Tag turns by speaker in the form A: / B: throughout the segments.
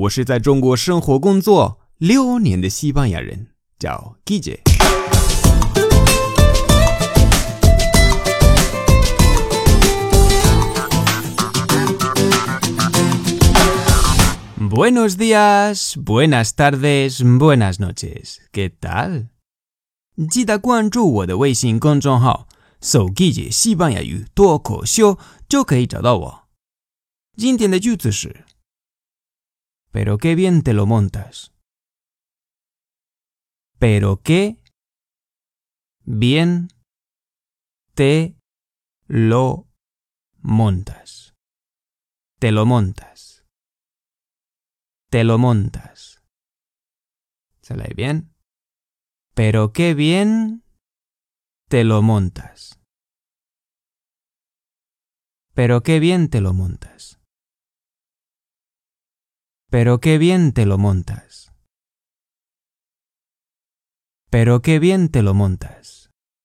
A: 我是在中国生活工作6年的西班牙人，叫 Guille。Buenos días, buenas tardes, buenas noches. ¿Qué tal? 记得关注我的微信公众号，搜 Guille 西班牙语脱口秀就可以找到我。今天的句子是 Pero qué bien te lo montas. Pero qué bien te lo montas. Te lo montas. Te lo montas. ¿Se lee bien? Pero qué bien te lo montas. Pero qué bien te lo montas. Pero qué bien te lo montas. Pero qué bien te lo montas.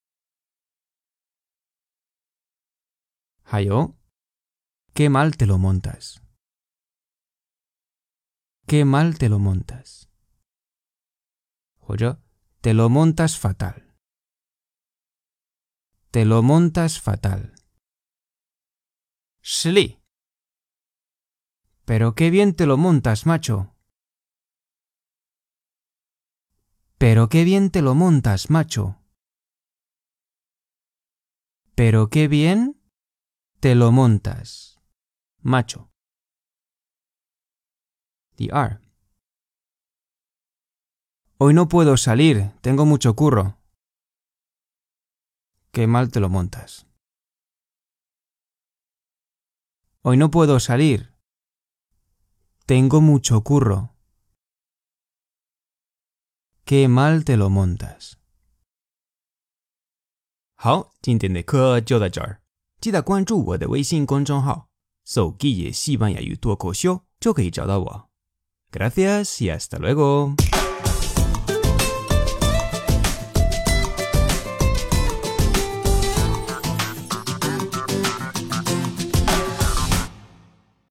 A: 还有 qué mal te lo montas. Qué mal te lo montas. 或者 te lo montas fatal. Te lo montas fatal. 实例 Pero qué bien te lo montas, macho. Pero qué bien te lo montas, macho. Pero qué bien te lo montas, macho. 第二 Hoy no puedo salir, tengo mucho curro. Qué mal te lo montas. Hoy no puedo salir. Tengo mucho curro. Qué mal te lo montas. 好，今天的课就到这儿。记得关注我的微信公众号，搜 Guille 西班牙语脱口秀就可以找到我。Gracias y hasta luego.